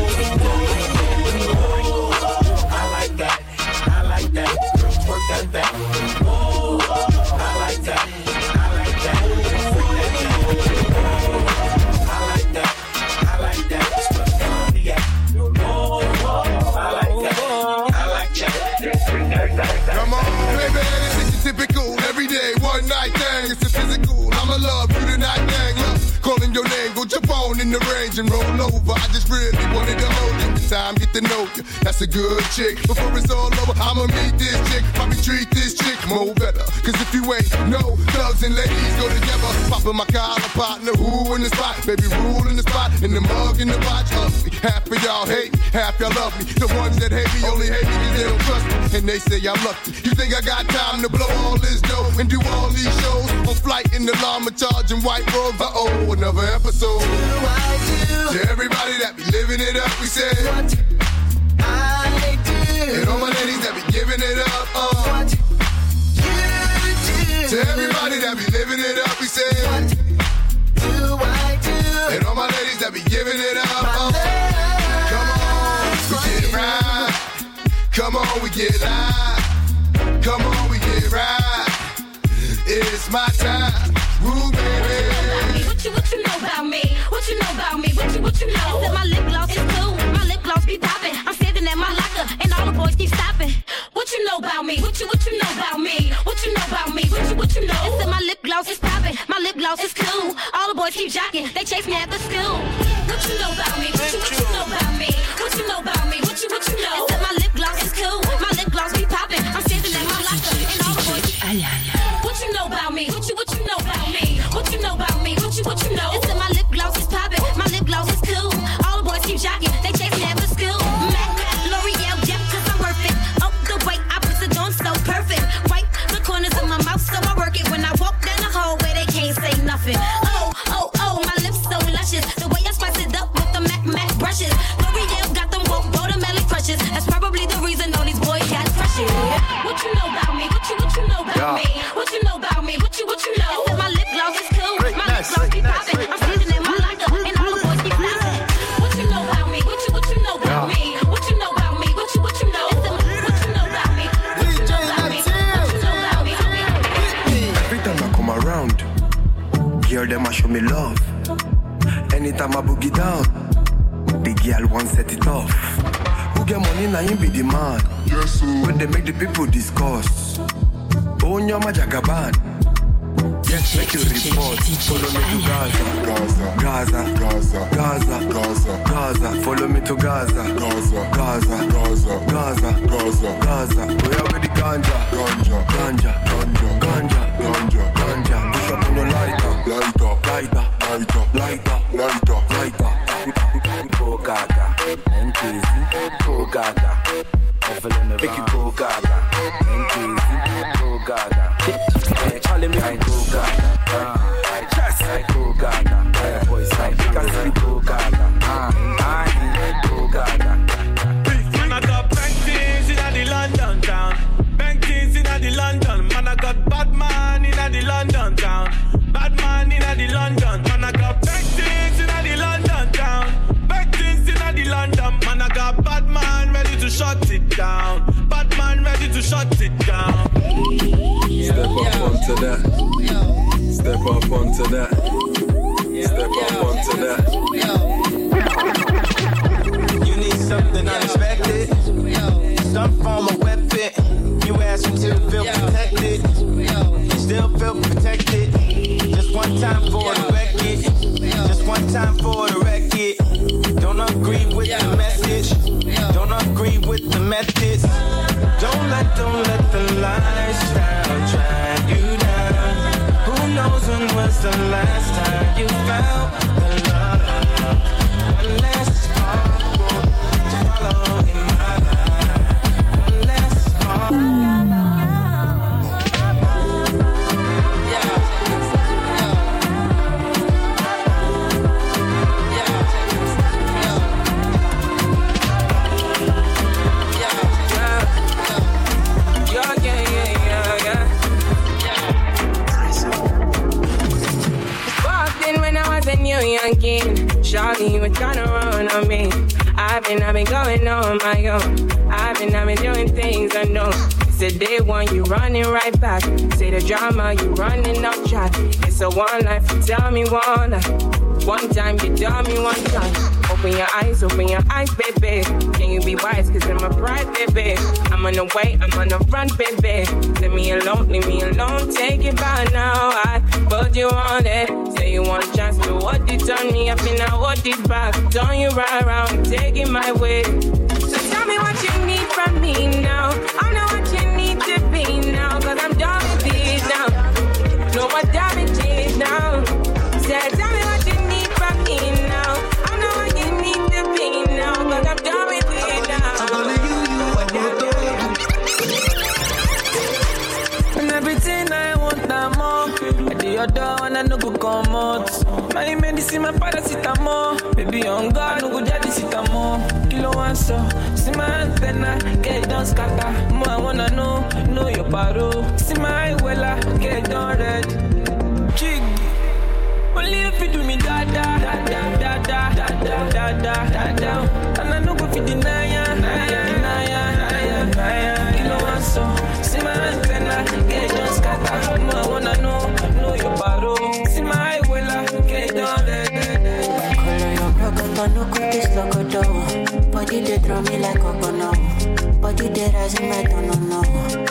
I like that, I like that. Work that thing. Whoa, I like that, I like that. Freak that thing. I like that, I like that. That's where the money at. Whoa, I like that, I like that. Come on, baby, this is typical. Every day, one night thing. It's a physical. I'ma love you tonight, gang. Look, calling your name, go jump on in the range and roll over. I just really wanted to hold you. This time, get to know you. That's a good chick. Before it's all over, I'ma meet this chick. Probably treat this chick more better. Cause if you ain't no thugs and ladies go together. Popping my collar partner, who in the spot? Baby, rule in the spot. In the mug, in the watch. Ugly. Half of y'all hate me, half y'all love me. The ones that hate me only hate me cause they don't trust me. And they say I'm lucky. You think I got time to blow all this dough and do all these shows? On flight in the llama, charging white robes. Uh-oh, another episode. To everybody that be living it up, we say what I do. And all my ladies that be giving it up, uh. What you do. To everybody that be living it up, we say what do I do. And all my ladies that be giving it up, uh. Come on, we get right. Come on, we get live. Come on, we get right. It's my time. Woo, baby. What you, what you know about me? What you know about me? What you, what you know? That my lip gloss is cool. My lip gloss be popping. I'm standing at my locker and all the boys keep stopping. What you know about me? What you, what you know about me? What you know about me? What you, what you know? That my lip gloss is popping. My lip gloss is cool. All the boys keep jocking. They chase me at the school. What you know about me? What you, what you know about me? What you know about me? What you, what you know? That my lip gloss is cool. My lip gloss be popping. I'm standing at my locker and all the boys keep. What you know about me? What you, what you know about me? What you know about me? What you, what you know? It's that my lip gloss is popping. My lip gloss is cool. All the boys keep jocking. They chase me at the school. Mac, L'Oreal, Jeff, cause I'm worth it. Oh, the way I put it on so perfect. Wipe the corners of my mouth so I work it. When I walk down the hallway, they can't say nothing. Oh, oh, oh, them a show me love. Anytime I boogie down, the girl want set it off. Who get money now him be the man. Yes, sir. When they make the people discuss. Oh, nyama jagaban. Yes, make you report. Follow me to Gaza. Gaza, Gaza, Gaza, Gaza, Gaza. Follow me to Gaza. Gaza, Gaza, Gaza, Gaza, Gaza, Gaza. We are with the ganja, ganja, ganja, ganja, ganja, ganja, ganja. Push up on the lighter, lighter, lighter, lighter, lighter, lighter, lighter. Go Gaga, and crazy. Go Gaga. Make you go Gaga, and crazy. Go Gaga. Charlie, me I go Gaga. Just I go Gaga. Boys like me, cause we go Gaga. I go Gaga. Man, I got bank things in the London town. Bank things in the London. Man, I got bad man in the London town. Bad man in the London. Man, I got bank things in the London town. Bank things in the London. Man, I got bad man ready to shut it down. Bad man ready to shut it down. Step up onto that. Step up onto that. Step up onto that. You need something unexpected. Some form of weapon. You ask me to feel protected. Still feel protected. Just one time for the record. Just one time for the record. Don't agree with the message. Don't agree with the methods. Don't let, don't let the lifestyle drag you down. Who knows when was the last time you felt the love? One less sparkle to follow in my life. One less sparkle. Youngin, Shawty, you were trying to run on me. I've been, I've been going on my own. I've been, I've been doing things I know. It's a day one, you running right back. Say the drama, you running off track. It's a one life, you tell me one life. One time, you tell me one time. Open your eyes, open your eyes, baby. Can you be wise, cause I'm a bride, baby. I'm on the way, I'm on the run, baby. Leave me alone, leave me alone, take it back now. I put you on it. Say you want a chance to what it on me, I feel I hold it back. Turn you right around, take it my way. So tell me what you need from me now. I know what you need to be now, cause I'm done with it now. Know what damage is now. Say, tell me what you need from me now. I know what you need to be now, cause I'm done with it now. I'm gonna you, you, what you do. And everything I want, I'm more. At the other one, I no go come out. My medicine, my paracetamol. Baby, on God, no go jadi sitamol. Kilo one so, see my antenna, get it done scatter. More I wanna know, know your paro. See my wella, get it done red. Jig. Only if you do me da da da da da da da da da da da. And I no go fit deny ya, deny ya, deny ya, deny ya. Kilo one so, see my antenna, get it done scatter. More I wanna know, know your paro. See my wella, get it done red. Color your broken, no cookies loco dough. Body they throw me like coconut. Body they rise in my don't know.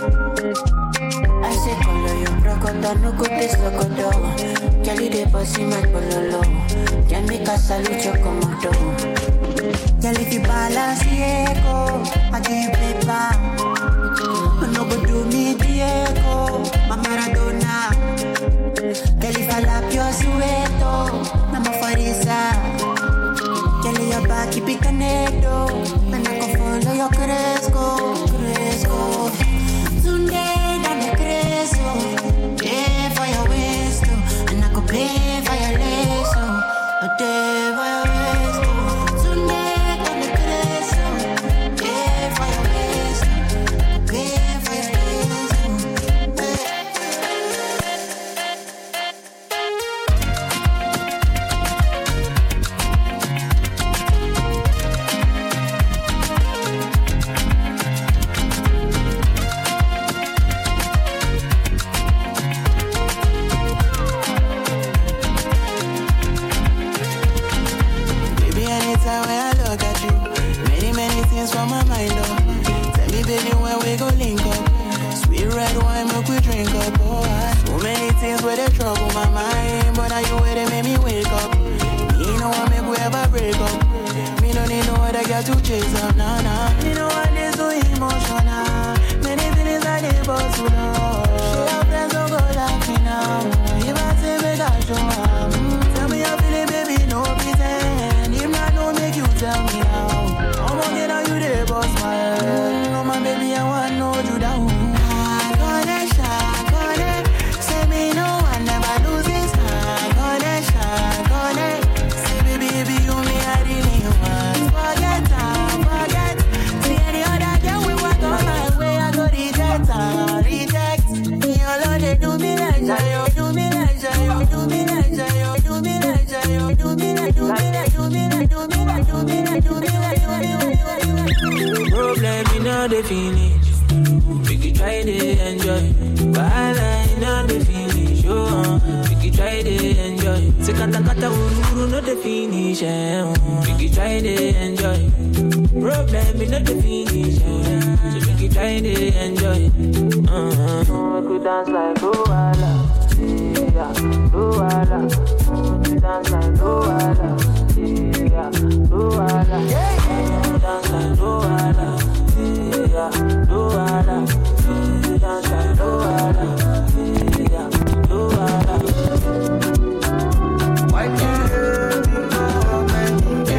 I say color your broken, no cookies loco dough. Kelly they bossy my pololo. Can make a salute your commando. Kelly if you balance Diego, I give you paper. No go do me Diego, my Maradona. Kelly if I lap your sueto, Mama Farisa. Kelly your back keep it connected. And I can follow your Cresco, Cresco. Today I'm a Cresco. Pay for your waist, and I could pay for your lace. A day for your waist. Today I'm a Cresco. Pay for your waist, pay for your lace. time when I look at you. Many, many things from my mind, oh. Tell me, baby, when we go link up. Sweet red wine, milk we drink up, oh. So many things where they trouble my mind, but now you where they make me wake up. Me no one make we ever break up. Me don't need no other girl to chase up, nah, nah. Me know what is so emotional. Many feelings I did, but too long. She have friends don't go like me now. If I say make I show up, mm, tell me how feeling, baby, no pretend. If not, no make you tell me now. I'm gonna get on you there, boss, my head. No, my baby, I want to know you down. I got it, I got it. Say me no, I never lose this. I got it, I got it. Say, baby, baby, you me, I really want. Forget, I forget. See any other girl, we walk on my way. I go reject, I reject. Me alone, they do me like that. Do me like that. Do me like that. Do me like that. Do me like, do me like, do me like, do me like, do me like, do me like, do me like. Problem, you know the finish. We can try to enjoy. While I know the finish, oh, we can try to enjoy. Se kata kata uru no the finish, eh, oh. We can try to enjoy. Problem, you know the finish, oh. So we can try to enjoy. Uh-huh. We could dance like Luala, yeah, Luala. We dance like Luala, yeah, Luala. Yeah, dance like Luala, yeah, Luala. We dance like Luala, yeah, Luala. Why can't you go, man?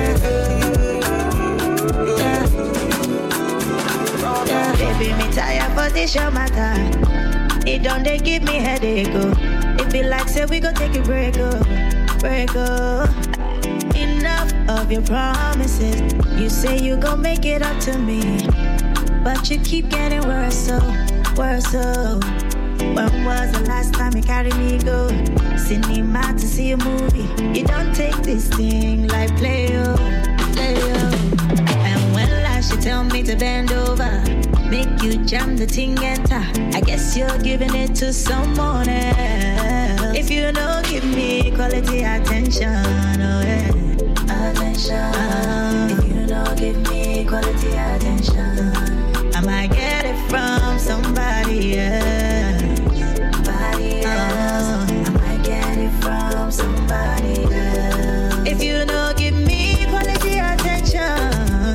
Yeah, baby, me tired for this show matter. It don't they give me headache, oh. It be like say we go take a break, oh, break, oh. Enough of your promises. You say you gon' make it up to me, but you keep getting worse, so, worse, so. When was the last time you carried me go cinema to see a movie? You don't take this thing like play, oh, play, oh. And when last you tell me to bend over, make you jam the thing enter. I guess you're giving it to someone else. If you don't give me quality attention, oh yeah, attention. If you don't give me quality attention, I might get it from somebody else. Somebody else. I might get it from somebody else. If you don't give me quality attention,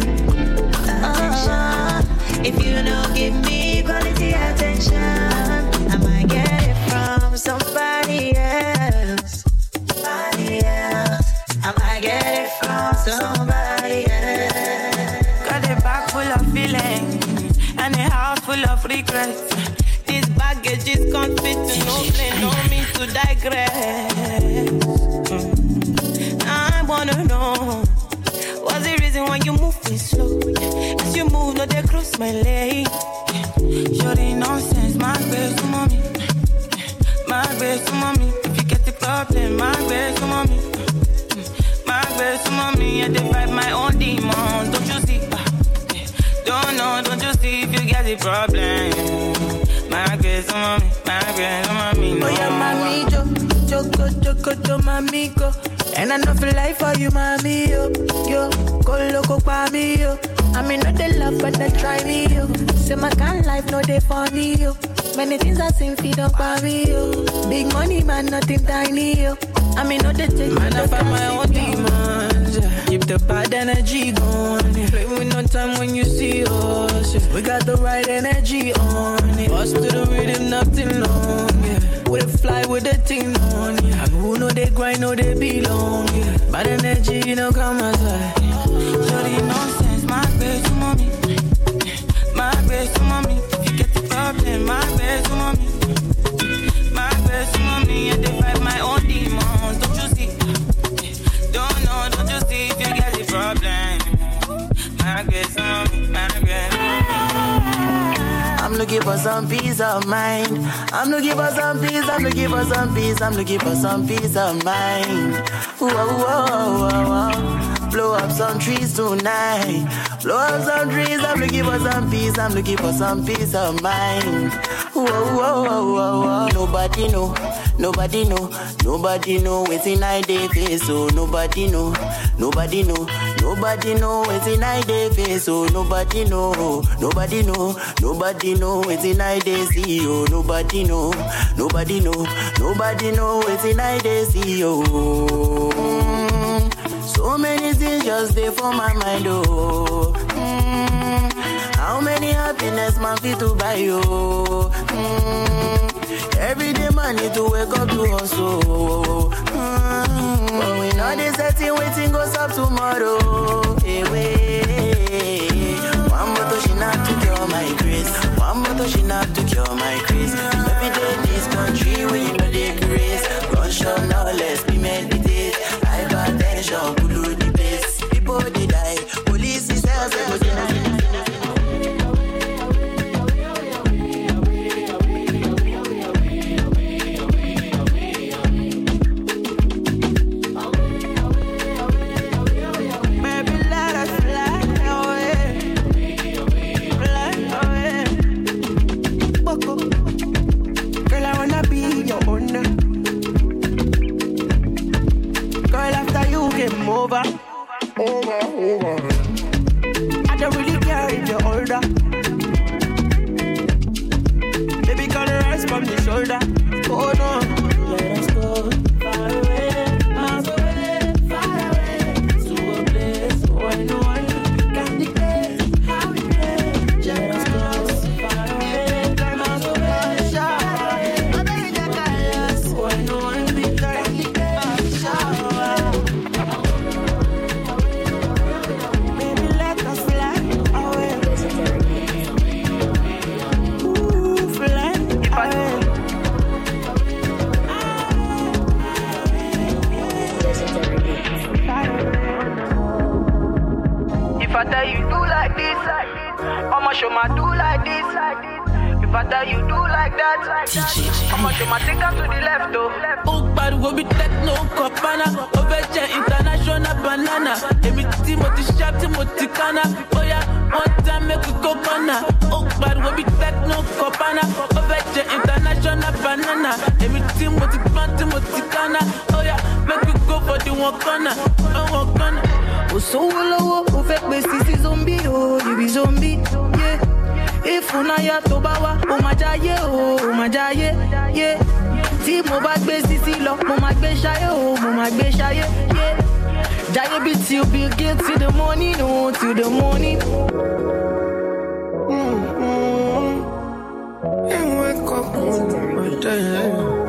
attention. If you don't give me quality attention, I might get it from somebody else. Somebody else. I might get it from somebody else. Got a bag full of feelings and a house full of regrets. This baggage is can't fit to no plane, no means to digress. Mm. I wanna know what's the reason why you move me slow? As you move, no, they cross my leg. Sure, ain't nonsense, my best to mommy. My best to mommy. If you get the problem, my best to mommy. My best to mommy. I divide my own demons, don't you see? Don't know, don't you see if you get the problem? My best to mommy, my best to mommy. No, oh, yeah, mommy, jo, joko, joko, jo, mommy, go. And I know for life for you, mommy, yo, yo, go loco for me, yo. I mean, not the love, but they try me, yo. Say my kind life, no, they for me, yo. Many things I seen feed up for me, yo. Big money, man, nothing tiny, yo. I mean, not the take man, I find my own demons, yeah. Keep the bad energy going, yeah. Play with no time when you see us, yeah. We got the right energy on, yeah. Bust to the rhythm, nothing long, yeah. We fly with the thing on, yeah. And who know they grind, know they belong, yeah. Bad energy, you know, come aside. Shorty nonsense, my best to mommy. My best to mommy. If you get the problem, my best to mommy. My best to mommy. I divide my own demons, don't you see? Don't know, don't you see if you get the problem? My best to mommy, my best to mommy. I'm looking for some peace of mind. I'm looking for some peace, I'm looking for some peace, I'm looking for some peace of mind. Whoa, whoa, whoa, whoa. blow up some trees tonight. Blow up some trees, I'm looking for some peace, I'm looking for some peace of mind. Whoa, whoa, whoa, whoa, whoa. Nobody know, nobody know, nobody know what's in I day face, so nobody know, nobody know, nobody know what's in I day face, so nobody know, nobody know, nobody know what's in I day see, oh, nobody know, nobody know, nobody know what's in I day see, oh. Mm, so many things just there for my mind, oh. Mm, how many happiness man fit to buy you? Mm, every day man need to wake up to hustle. Mm, but we know this setting waiting goes up tomorrow. Hey, wait. One more to she not to cure my grace. One more to she not to cure my grace. Every day this country we know the grace. Gunshot no less be meditate. Hypertension could do the best. People they die. Police is cells they go deny. Over, over, over. I don't really care if you're older. Baby, can you rise from the shoulder? Oh no. Let us go far away, miles away, far away, to a place where no one can dictate how we play. Let us go far away, miles away, far away, where no one can dictate. If I tell you do like this, like this, I'ma show my do like this, like this. If I tell you do like that, like that, I'ma show my take up to the left, though. Oh, but we be techno copana, overjet international banana. Every Timothy sharp, Timothy Kana. Oh yeah, one time make we go corner. Oh, but we be techno copana, overjet international banana. Every Timothy Pan, Timothy Kana. Oh yeah, make we go for the one corner, one corner. Oh, so low, oh, fake best is zombie, oh, you be zombie, yeah. If una ya to bawa, oh my jaye, oh my jaye, yeah. Ti mo ba gbe sisi lo, mo ma gbe shaye, oh mo ma gbe shaye, yeah. Jaye be till be get to the morning, oh to the morning. Mm-hmm. And wake up my day.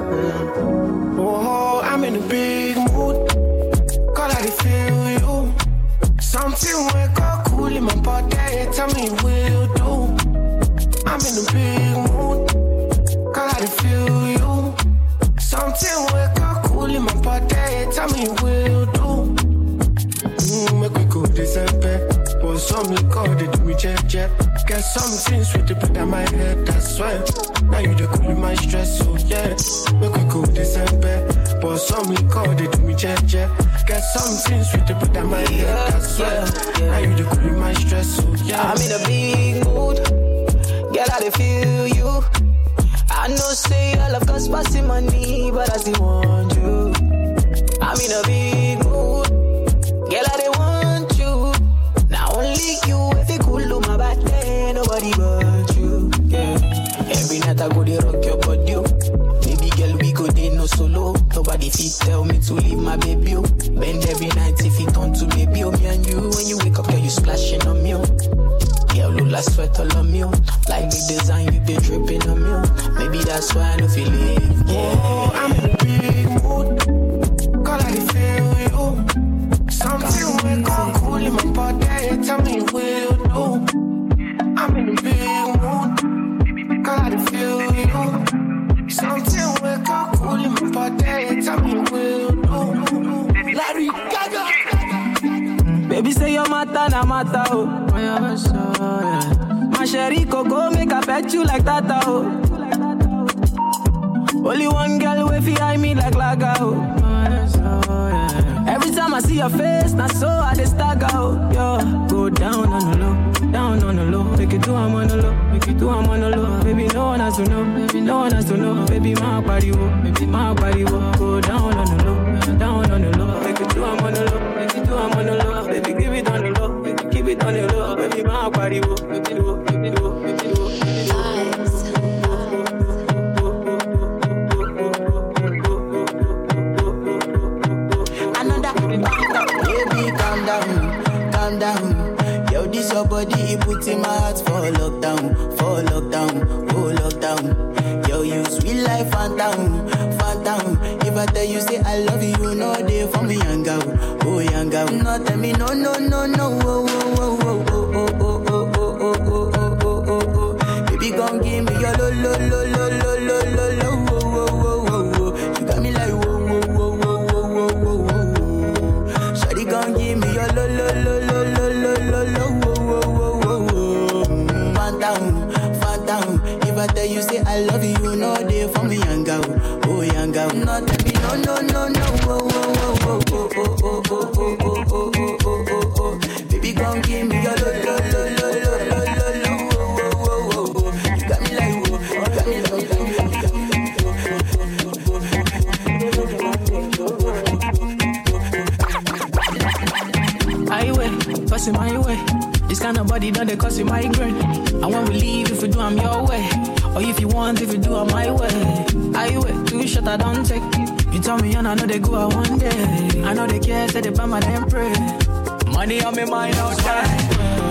Oh, I'm in a big mood. Call I feel you. Something wake up cool in my body. Tell me will do. I'm in a big mood. Call I feel you. Something wake up cool in my body. Tell me will do. Mm, make we go December. Pour some liquor, they do me jet jet. Get something sweet to put on my head, that's why. Now you the cool in my stress, so yeah. Make we go December. Pour some liquor, they do me jet jet. Get something sweet to put on my head, that's why. Now you the cool in my stress, so yeah. I'm in a big mood. Girl, I feel you. I know say I love cause passing money, but I still want you. I'm in a big mood. Girl, I want you. Now only you, if you cool to my back, then nobody but you. Yeah. Every night I go to rock your body. Baby girl, we go there no solo. Nobody fit tell me to leave my baby. Bend every night if it on to baby. Oh, me and you, when you wake up, girl, you splashing on me. Yeah, look like sweat all on me. Like the design you been dripping on me. Maybe that's why I don't feel it. Yeah. Oh, I'm in a big mood. Call I feel you. Something wake up cool in my body. Tell me will do. I'm in a big mood. Call I feel you. Something wake up cool in my body. Tell me will do. Larry Gaga. Baby say your matter na matter, oh. My sherry coco make I pet you like that, oh. Only one girl way fi eye me like Laga, oh. Every time I see your face, now so I just stagger out. Yo, go down on the low, down on the low. Make it do I'm on the low, make it do I'm on the low. Baby, no one has to know, baby, no one has to know. Baby, my body wo, baby, my body wo. Go down on the low, down on the low. Make it do I'm on the low, make it do I'm on the low. Baby, give it on the low, baby, keep it on the low. Baby, my body wo, baby, wo, baby, wo, baby, wo. Calm down, yo, this your body, it puts in my heart for lockdown, for lockdown, oh lockdown. Yo, you sweet life, phantom, phantom. If I tell you say I love you, you know they for me, young girl, oh young girl. No, tell me no, no, no, no, oh, oh, oh, oh, oh, oh, oh, oh, oh, oh, oh, oh, oh, oh. Baby, gon' give me your lo, lo, lo, lo, lo, lo, lo, lo, oh, oh, oh, oh, oh. You got me like whoa, whoa, whoa, whoa, whoa, whoa, whoa, whoa. Shawty gon' give me your lo, lo, lo, lo, lo, lo, lo, lo, whoa, whoa, whoa, whoa. Phantom, phantom. If I tell you say I love you, you know they for me, young girl, oh young girl. No, tell me no, no, no, no, oh, oh, oh, oh, oh, oh, oh, oh, oh, oh, oh, oh, oh, oh. Baby, gon' give me your lo, lo, lo, lo, lo, lo, lo, lo, oh, oh, oh, oh, oh. You got me like whoa, you got me like whoa. Highway, passing my way. This kind of body done they cause you migraine. And when we leave, if you do, I'm your way. Or if you want, if you do, I'm my way. Highway, two shot I don't take. You tell me and I know they go out one day. I know they care, say they buy my damn pray. Money on me mind outside.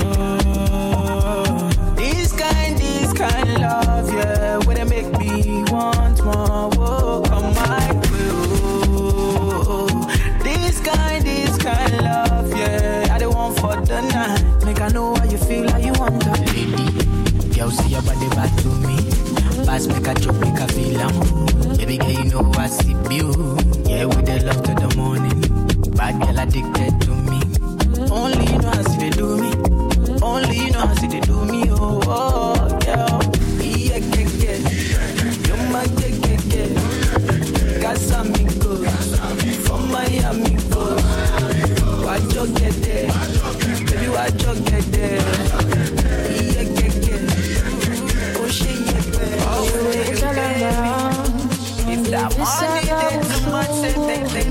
Oh, this kind, this kind love, yeah. Where they make me want more. Whoa, come my way. Oh, this kind, this kind love, yeah. I don't want for the night. Make I know how you feel, how you want to. Lady, yo, see your body back to me. Pass make a chop, make a feel am. Baby girl, you know I see you. Yeah, with the love to the morning. Bad girl addicted to me. Only you know how see they do me. Only you know how see they do me. Oh, oh, yeah. Yeah, yeah, yeah. You're my yeah, yeah, yeah. Casamigos. From Miami, go. Why you get there? Baby, why you get there? Yeah, yeah, yeah. Oh, shit, yeah, yeah. Oh, yeah, yeah. If that money did too much, then they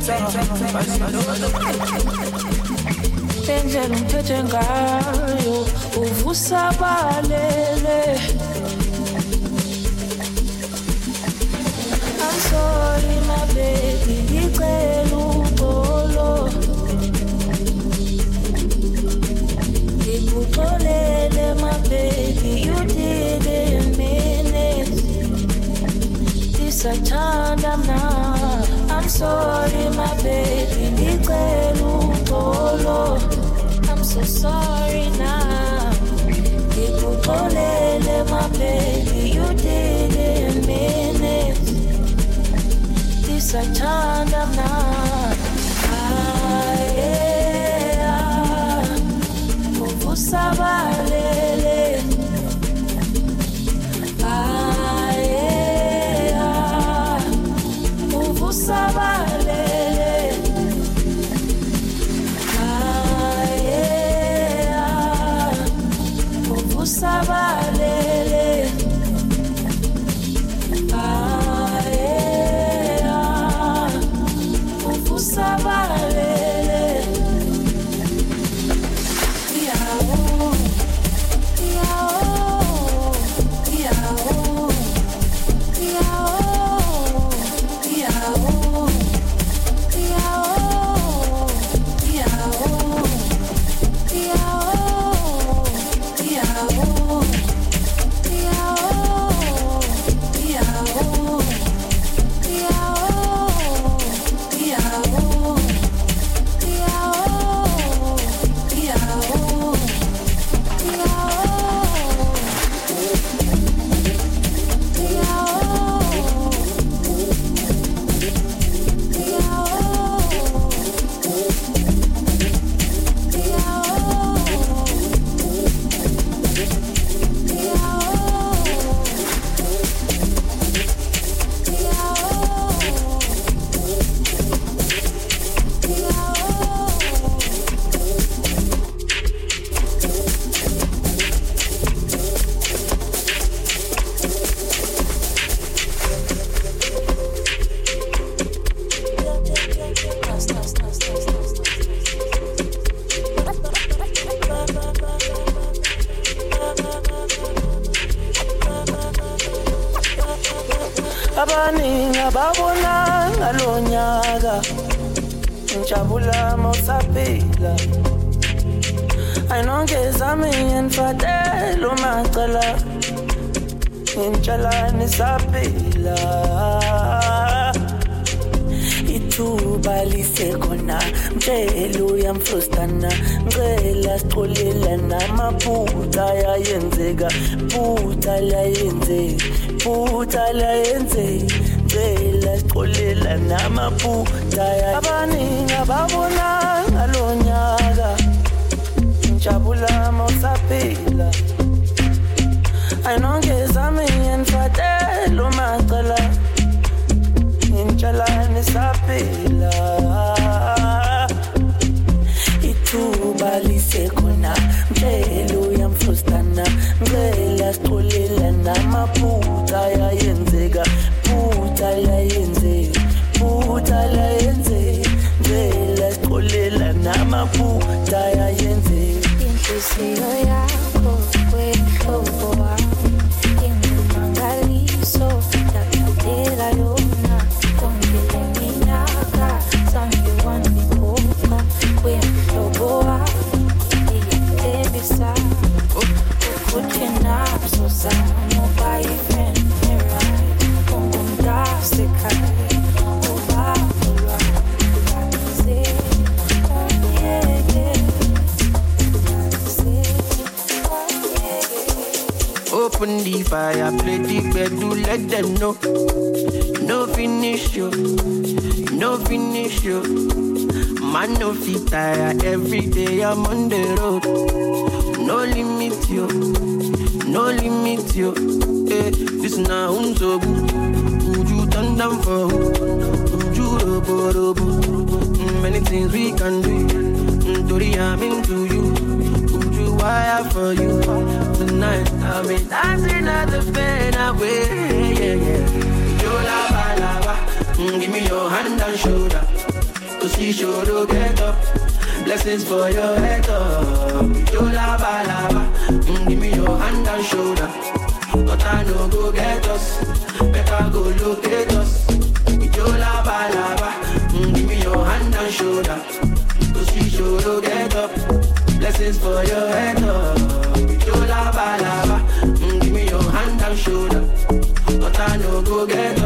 Tenzela umphethe ngayo uvusabalele. I'm sorry my baby, ngicela uxolo. Ngikuxolele my baby, you didn't mean it. This I turned up now. I'm sorry my baby, ngicela uxolo. I'm so sorry now. Ngikuxolele my baby, you didn't mean it. This I turned up now. Ah, yeah. Uvusabalele. Ah, yeah. Uvusabalele. Sabalele, ah yeah, ufu sabalele, yao, yao, yao, yao, yao, yao, yao, yao. nyaka ngijabula mawusaphila ayinongezami ngifatela umacala ngintshela nisaphila ithuba lisekhona mtshela uyamfrustana ngicela sixolela namaphutha ayenzeka phutha layenzeka phutha layenzeka ngicela sixolela namaphutha abaningi ababona ngalonyaka ngijabula mawusaphila ayinongezami ngifatela umacala ngintshela nisaphila ithuba lisekhona mtshela uyamfrustana ngicela sixolela namaphutha ayenzeka phutha layenzeka phutha layenzeka ngicela sixolela namaphutha ayenzeka inhliziyo yakho kwehlobo wami ingumangaliso yakudela yona kongele minyaka sangiwani mikhokha kwehlobo wami iyetebisa ukuthi naso sami ubayifriend right ungumdasekhaya ubabulwa open the fire, play the bed, do let them know. You no finish you, you no finish you. Man no fit tire, every day I'm on the road. No limit you, no limit you. Hey, this now I'm so good. Would you turn down for? Would you robo robo? Many things we can do. Tori, I'm into you. Would you wire for you? Tonight I'll be dancing at the bed away. Yeah, yeah. Yo lava lava, mm, give me your hand and shoulder. Cause she sure to get up. Blessings for your head up. Yo lava lava, mm, give me your hand and shoulder. But I know go get us. Better go locate us. Yo lava lava, mm, give me your hand and shoulder. Cause she sure to get up. Blessings for your head up. Yo lava lava, mm, give me your hand and shoulder. But I know go get